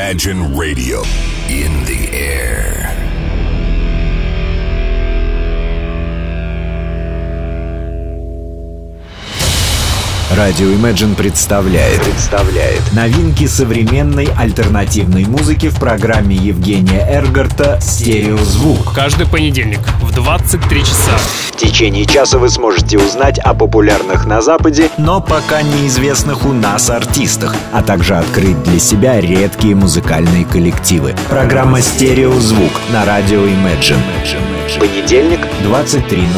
Imagine Radio. In the air. Радио Imagine представляет новинки современной альтернативной музыки в программе Евгения Эргарта «Стереозвук». Каждый понедельник в 23 часа. В течение часа вы сможете узнать о популярных на Западе, но пока неизвестных у нас артистах, а также открыть для себя редкие музыкальные коллективы. Программа «Стереозвук» на радио Imagine. Понедельник, 23:00.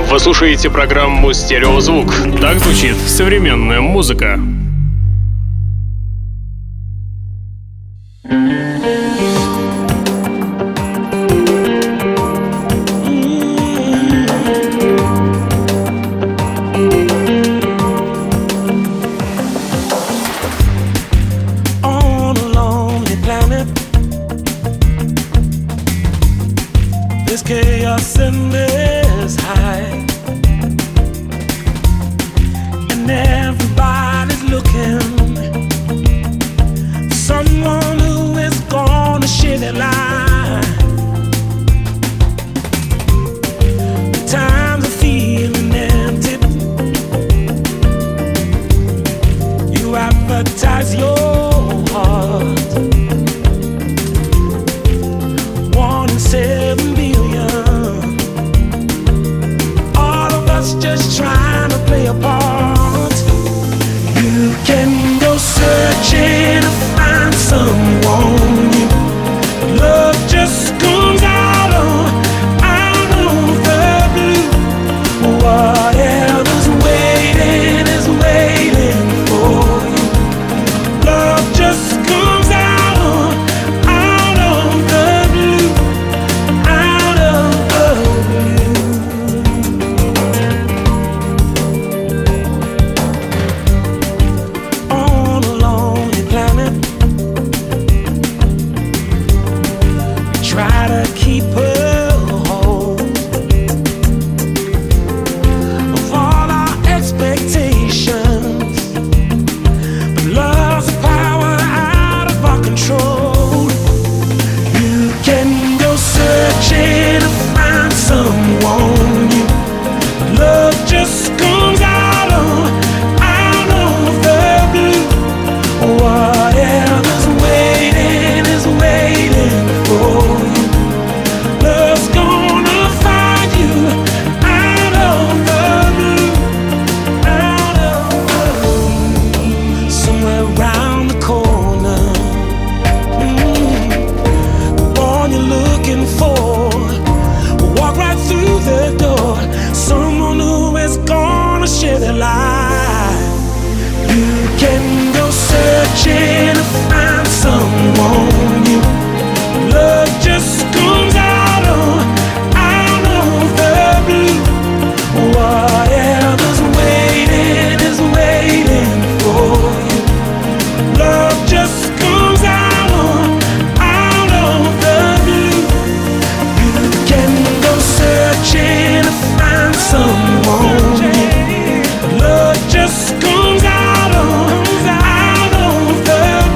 Вы слушаете программу «Стереозвук». Так звучит современная музыка. Love just comes out of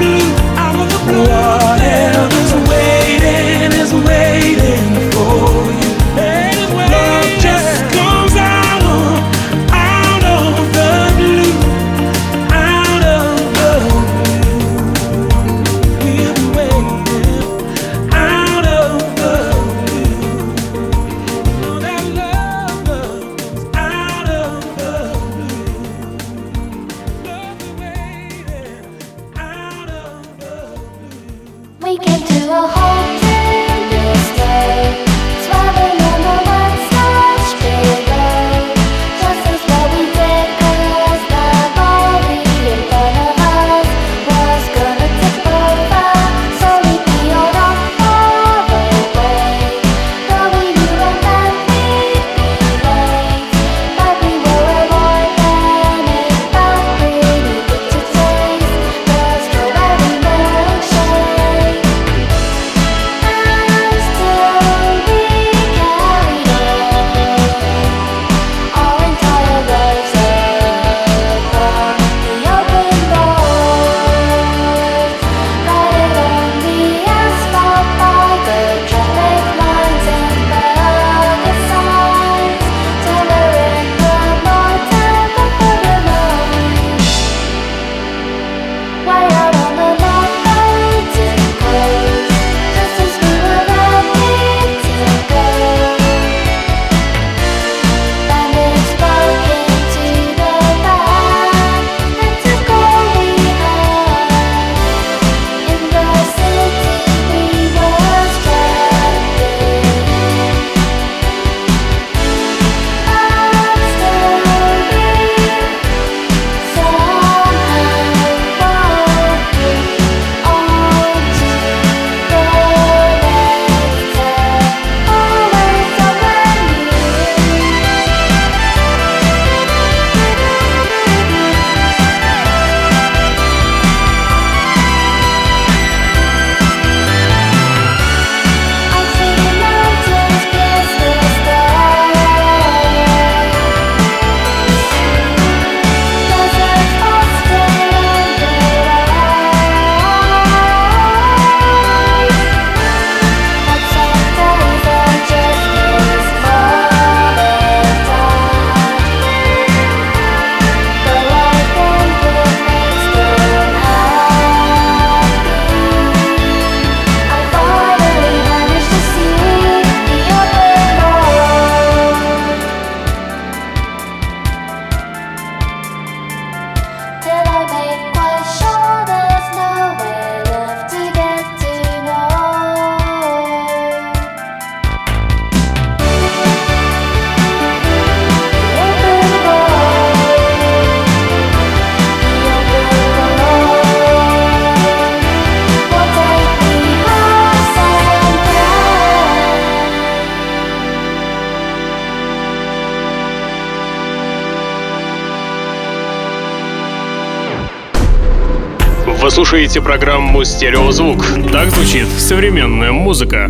Вы слушаете программу «Стереозвук». Так звучит современная музыка.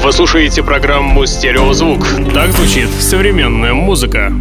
Вы слушаете программу «Стереозвук». Так звучит современная музыка.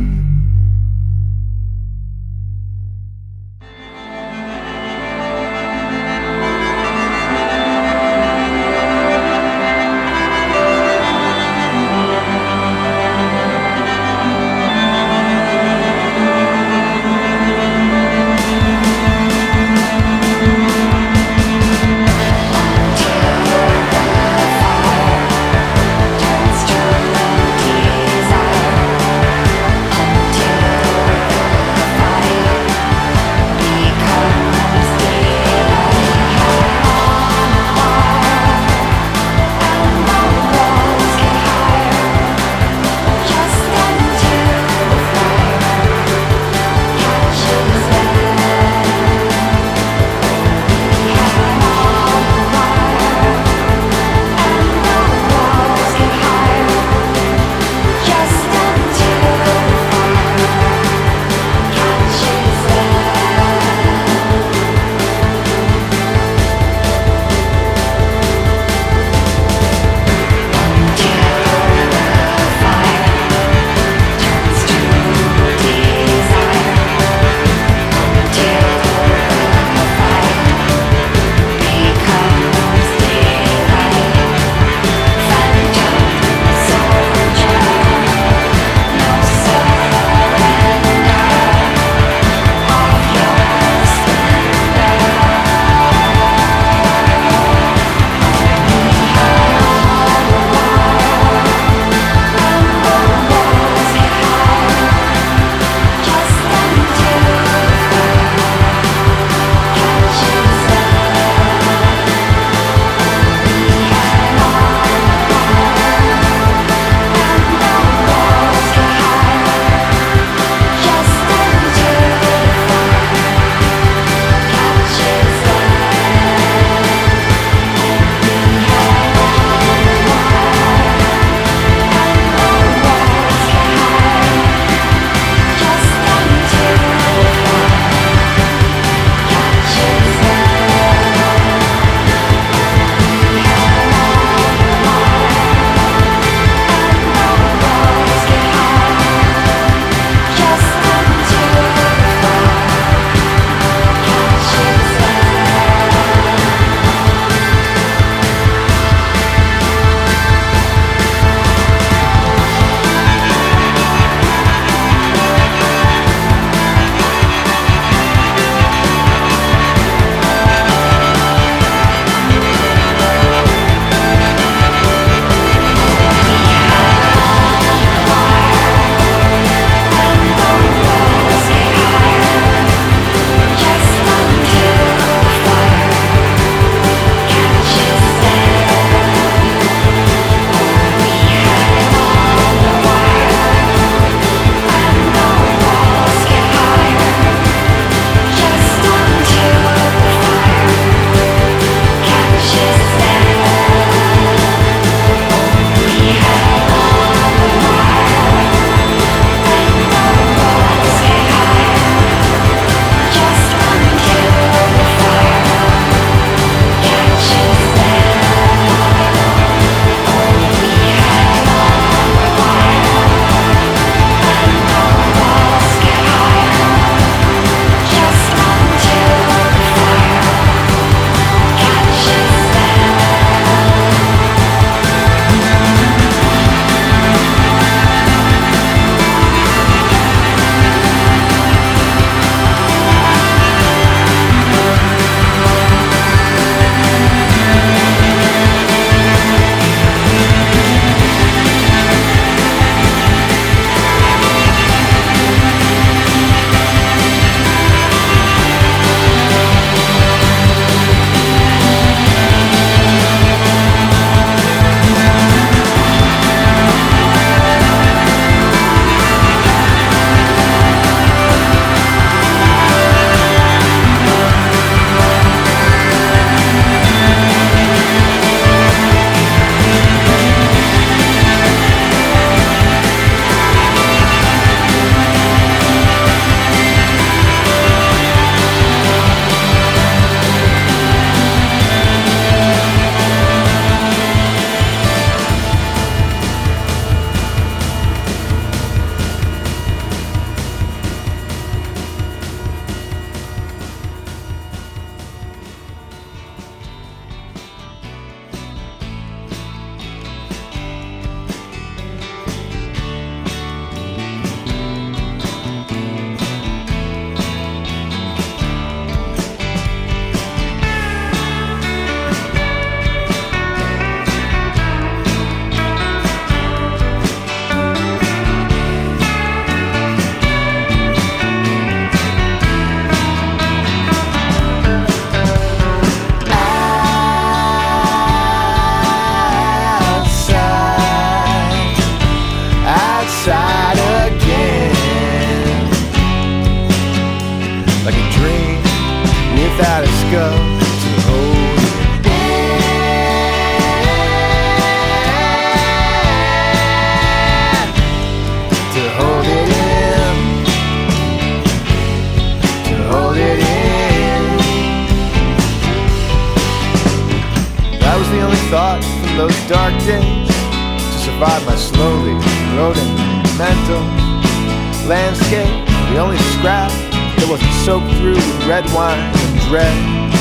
survive my slowly eroding mental landscape. The only scrap that wasn't soaked through with red wine and dread.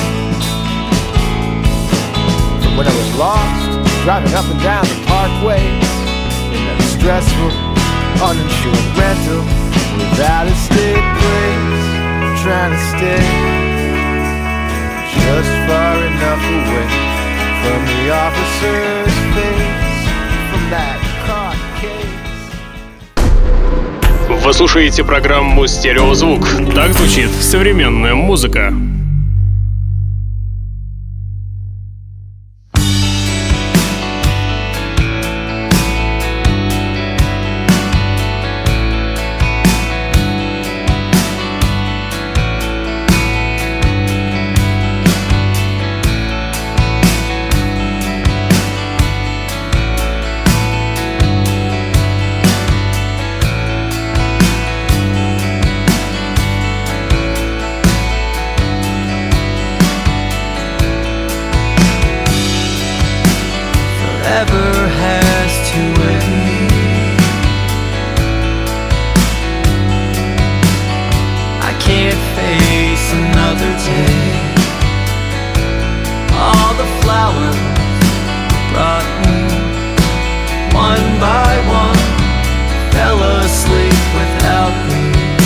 From when I was lost, driving up and down the parkways in that stressful, uninsured rental without a stick place, trying to stay just far enough away from the officer's face, from that court case. Вы слушаете программу «Стереозвук». Так звучит современная музыка. Forever has to wait. I can't face another day. All the flowers brought me, one by one, fell asleep without me.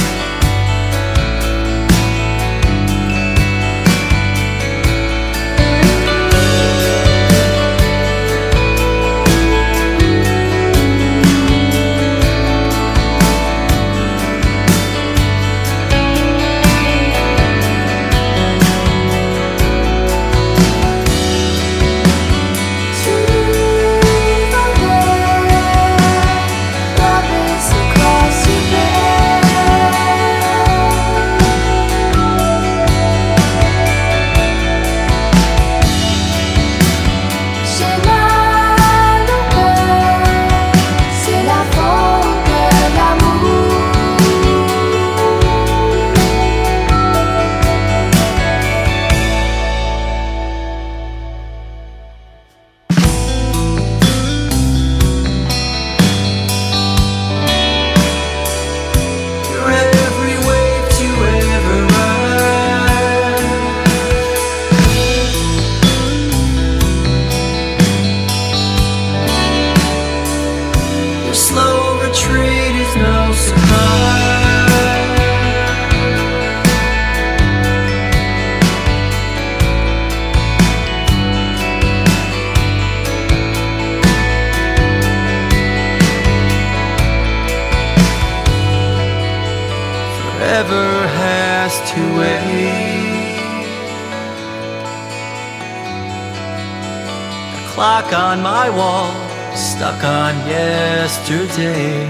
Forever has to wait. The clock on my wall, stuck on yesterday.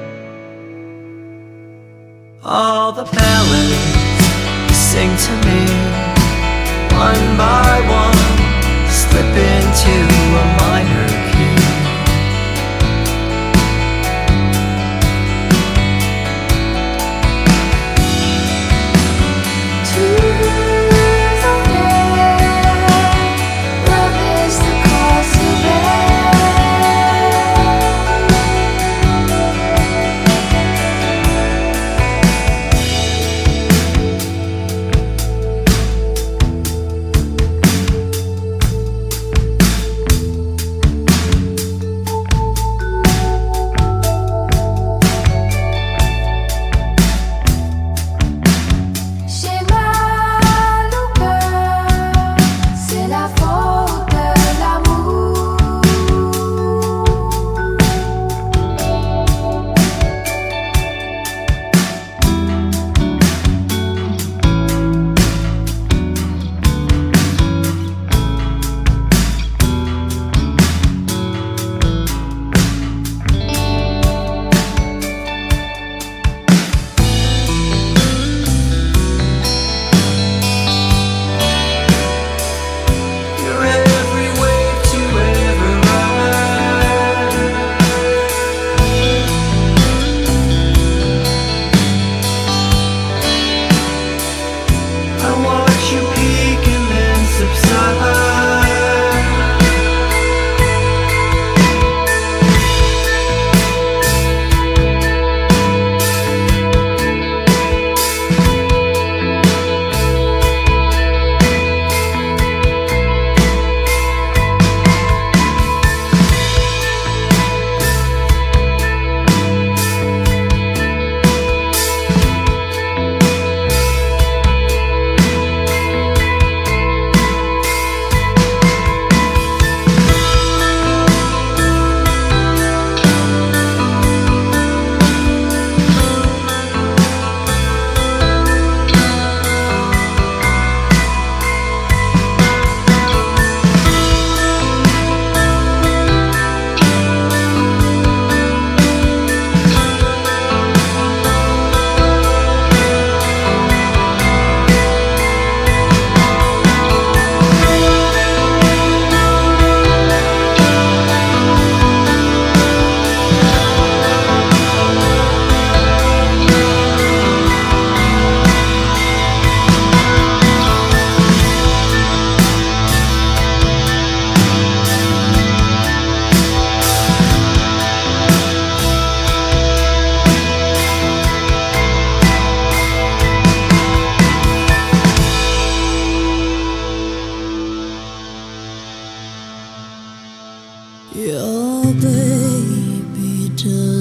All the ballads sing to me, one by one, slip into a minor key.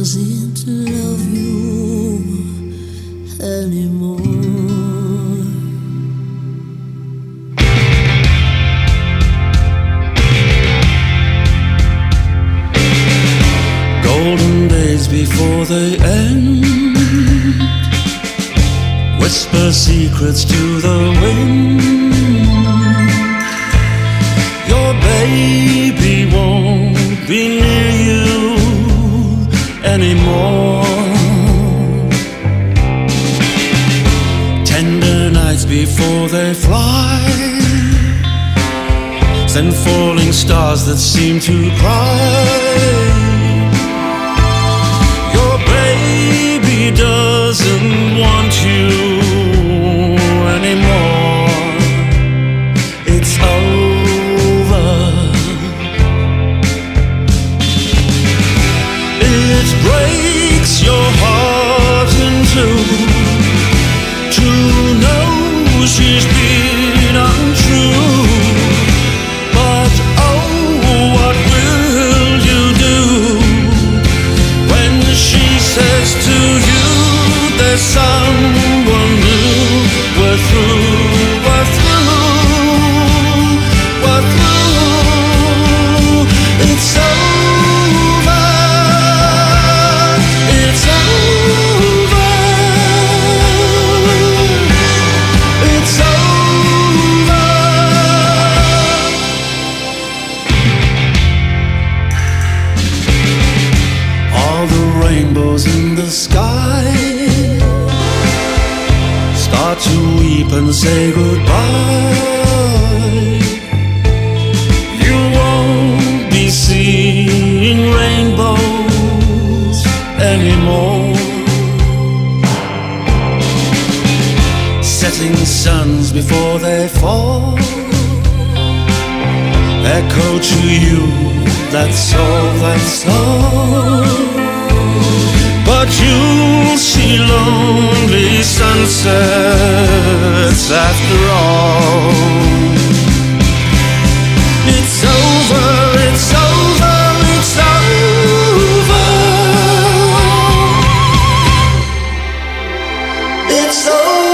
seem to love you anymore. Golden days before they end, whisper secrets to the wind. Your baby won't be near you anymore. Tender nights before they fly, send falling stars that seem to cry. Your baby doesn't want you anymore. It's over. It breaks your heart in two to know she's been untrue. But oh, what will you do when she says to you there's someone new? We're through, we're through, we're through. It's over, it's over, it's over. All the rainbows in the sky start to weep and say goodbye. You won't be seeing rainbows anymore. Setting suns before they fall echo to you, that's all, that's all. But you'll see lonely sunsets after all. It's over, it's over, it's over. It's over.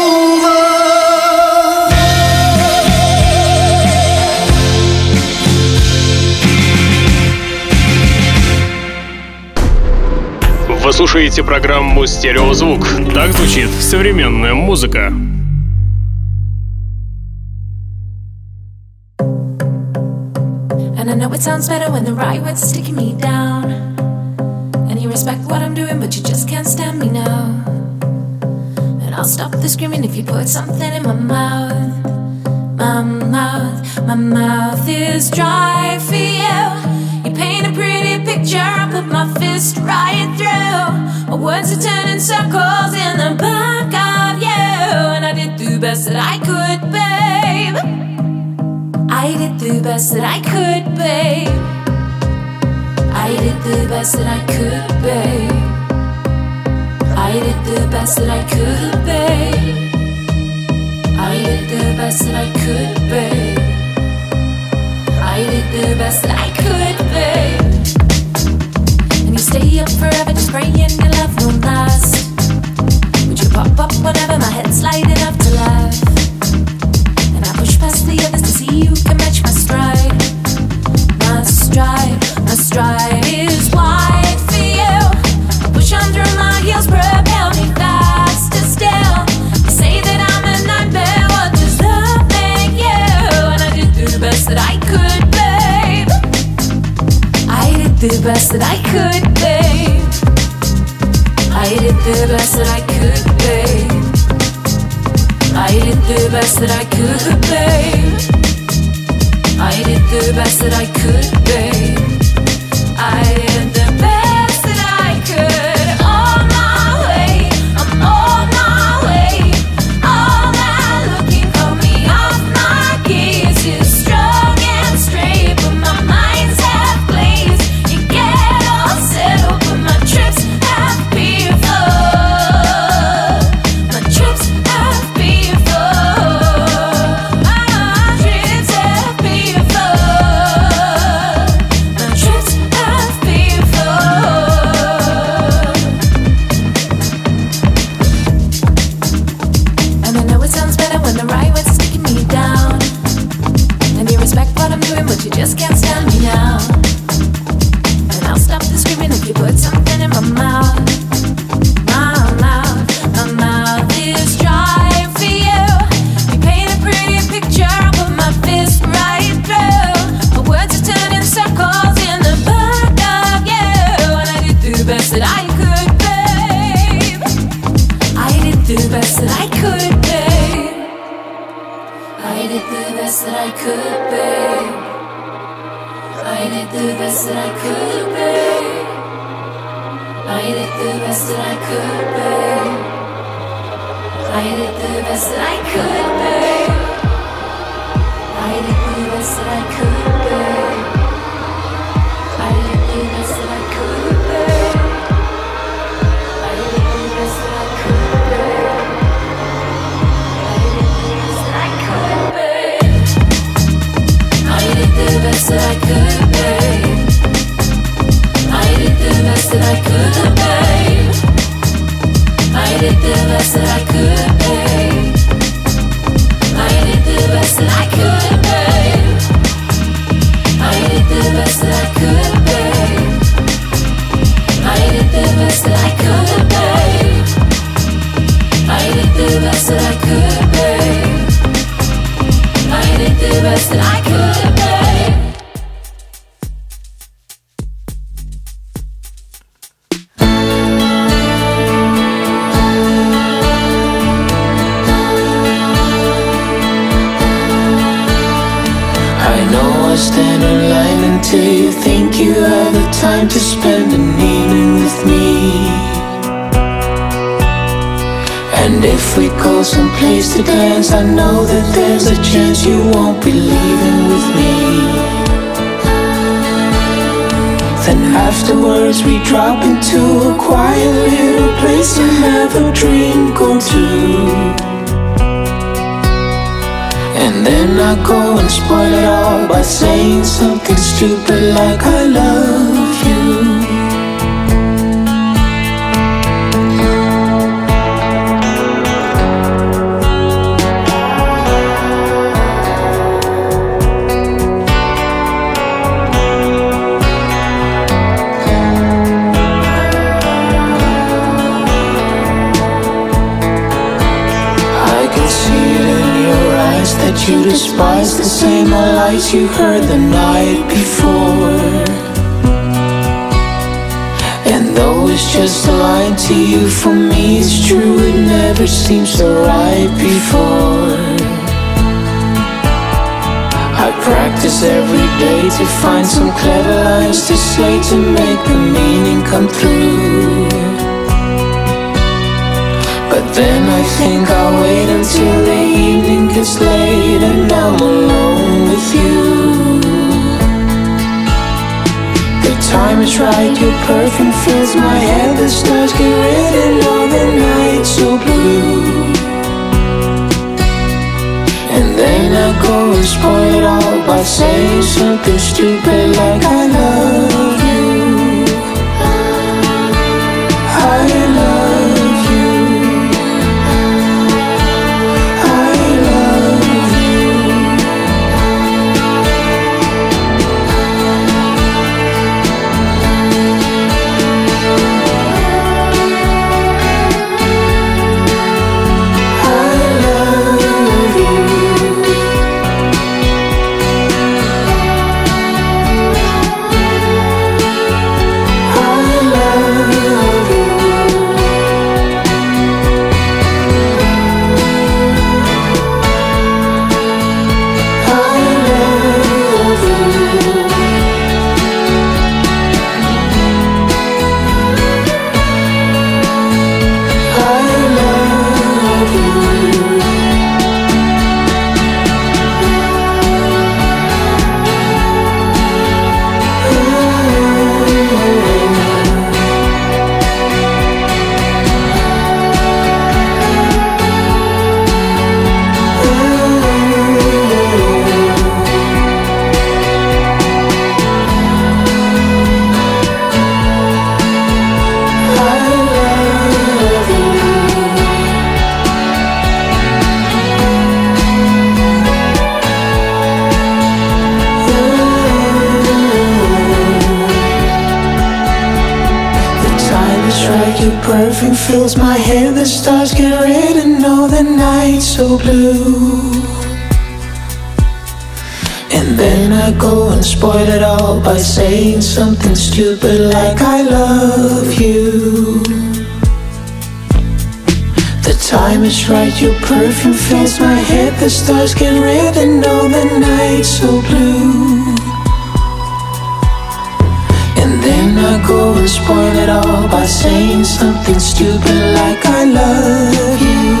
Вы слушаете программу «Стереозвук». Так звучит современная музыка. And I know it sounds better when the right words are sticking me down. And you respect what I'm doing, but you just can't stand me now. And I'll stop the screaming if you put something in my mouth. My mouth is dry for you. You paint a pretty picture, I put my fist right through. My words are turning circles in the back of you. And I did the best that I could, babe. I did the best that I could, babe. I did the best that I could, babe. I did the best that I could, babe. I did the best that I could, babe. I did the best that I could, babe. And you stay up forever just praying your love won't last. Would you pop up whenever my head's lighting up to laugh? And I push past the others to see who can match my stride. My stride, my stride is wide for you. I push on through my heels, propel me faster still. You say that I'm a nightmare, what does that make you? And I did the best that I could, babe. I did the best that I could, babe. I did the best that I could, babe. I did the best that I could, babe. I did the best that I could, babe. I did the best that I could. On my way, I'm on my way. All that looking for me off my keys is strong and straight, but my mind's half glazed. You get all settled, but my trips have been full. My trips have been full. My trips have been full. My trips have been put something in my mouth. My mouth is dry for you. You paint a pretty picture, I put my fist right through. My words are turning circles in the back of you. And I did the best that I could, babe. I did the best that I could, babe. I did the best that I could, babe. I did the best that I could, babe. I did the best that I could, babe. I did the best that I could, babe. I did the best that I could, babe. I did the best that I could, babe. I did the best that I could, babe. I did the best that I could, babe. I did the best that I could, babe. I did the best that I could, babe. I did the best that I could, babe. I did the best that I could, babe. I did the best that I could, babe. I did the best that I could, babe. I did the best that I could, babe. Stand in line until you think you have the time to spend an evening with me. And if we go someplace to dance, I know that there's a chance you won't be leaving with me. Then afterwards we drop into a quiet little place and have a drink or two. And then I go and spoil it all by saying something stupid like I love you. That you despise the same old lies you heard the night before. And though it's just a lie to you, for me it's true, it never seems so right before. I practice every day to find some clever lines to say to make the meaning come through. But then I think I'll wait until the evening gets late and I'm alone with you. The time is right, your perfume fills my head, the stars get red and all the night so blue. And then I go and spoil it all by saying something stupid like I love you. I love you. time is right, your perfume fills my head. The stars get red and all the night's so blue. And then I go and spoil it all by saying something stupid like I love you. The time is right, your perfume fills my head. The stars get red and all the night's so blue. And then I go and spoil it all by saying something stupid like I love you.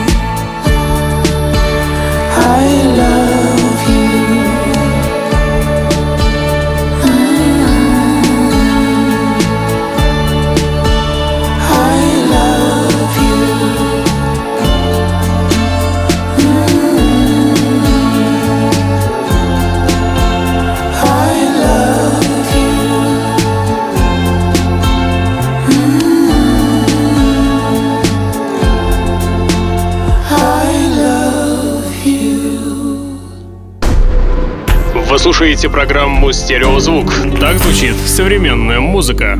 I love you. Вы слушаете программу «Стереозвук». Так звучит современная музыка.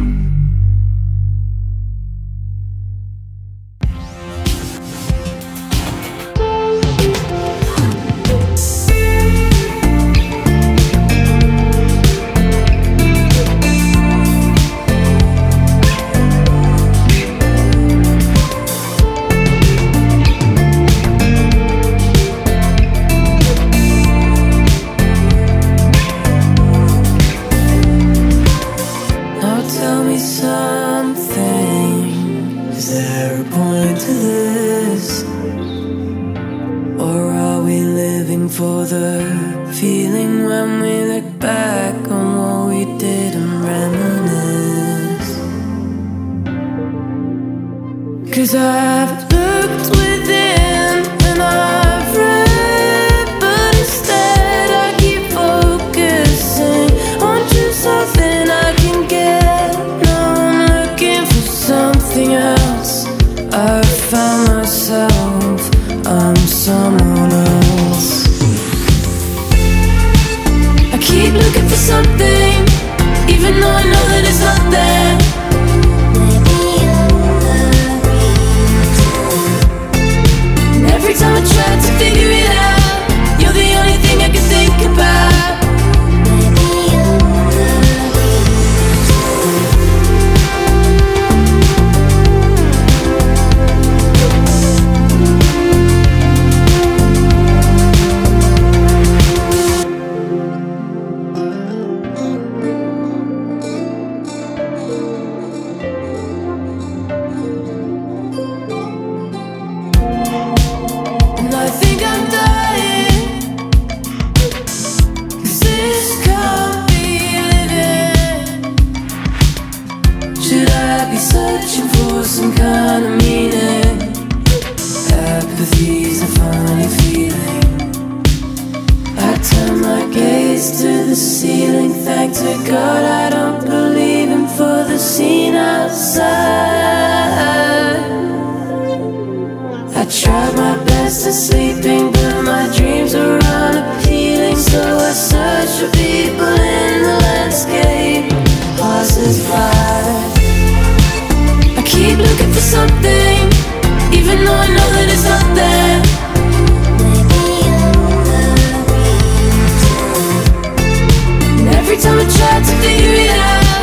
For the feeling when we look back on what we did and reminisce. 'Cause I've looked within and I've read, but instead I keep focusing on just something I can get. Now I'm looking for something else. I've found myself, I'm someone else. Keep looking for something, even though I know that it's not there. And every time I try to figure it out, you're the only thing I can think about. Searching for some kind of meaning. Apathy's a funny feeling. I turn my gaze to the ceiling. Thank to God I don't believe him for the scene outside. I tried my best at sleeping, but my dreams are unappealing. So I search for people in the landscape, passers-by. Keep looking for something, even though I know that it's not there. And every time I try to figure it out,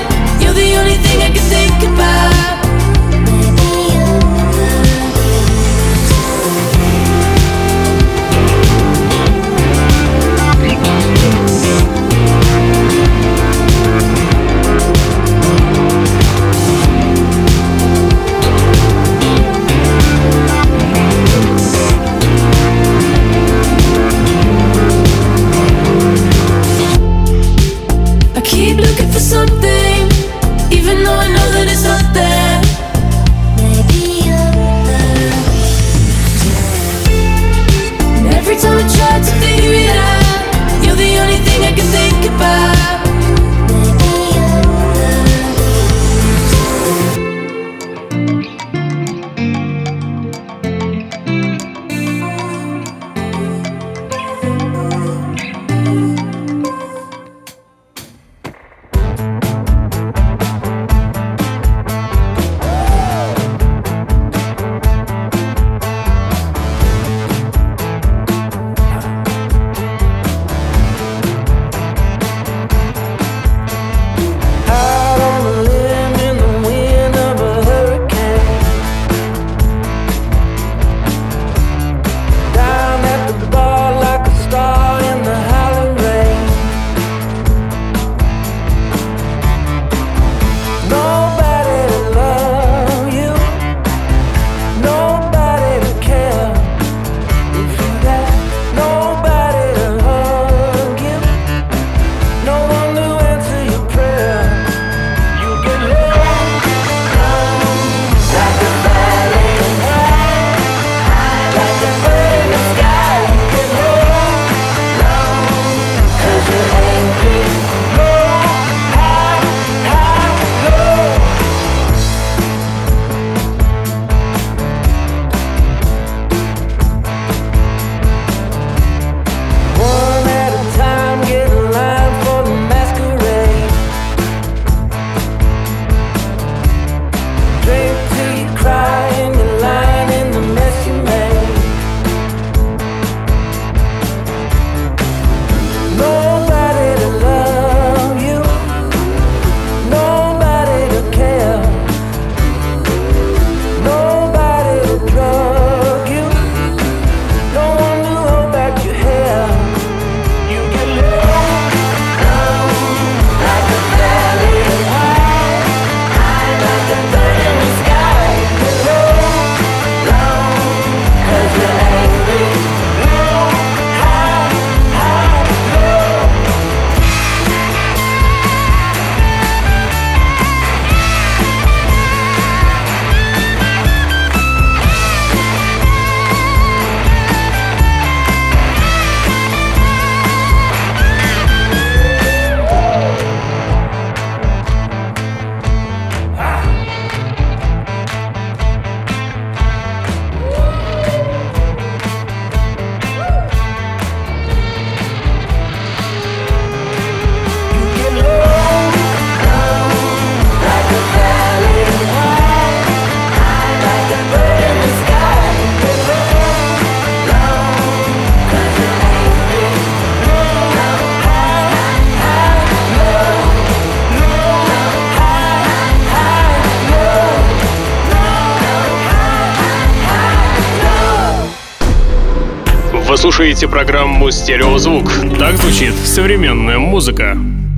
слушаете программу «Стереозвук». Так звучит современная музыка.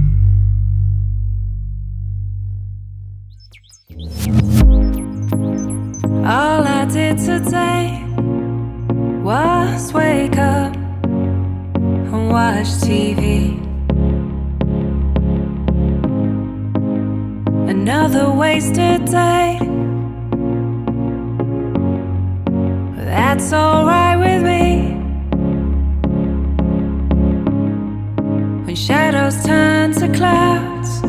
All I did today was wake up and watch TV. Another wasted day. That's alright with me. When shadows turn to clouds,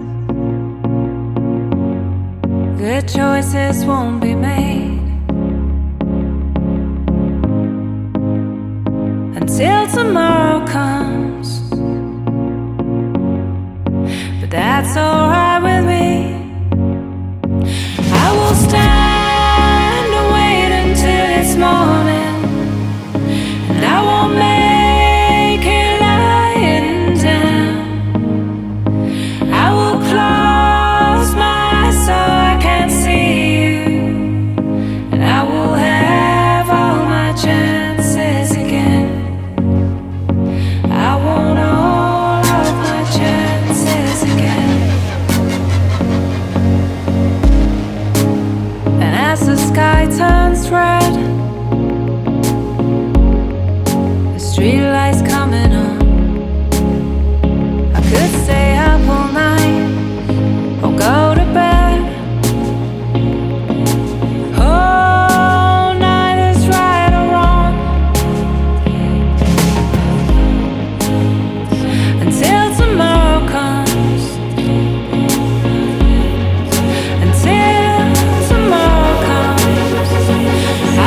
good choices won't be made until tomorrow comes. But that's alright with me. I will stand and wait until it's morning, and I won't make it lying down. I will close my eyes so I can't see you, and I will have all my chances again. I want all of my chances again. And as the sky turns red, the streetlights coming on, I could stay up all night or go to bed. Oh, neither's right or wrong until tomorrow comes. Until tomorrow comes, I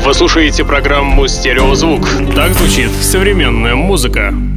Вы слушаете программу «Стереозвук». Так звучит современная музыка.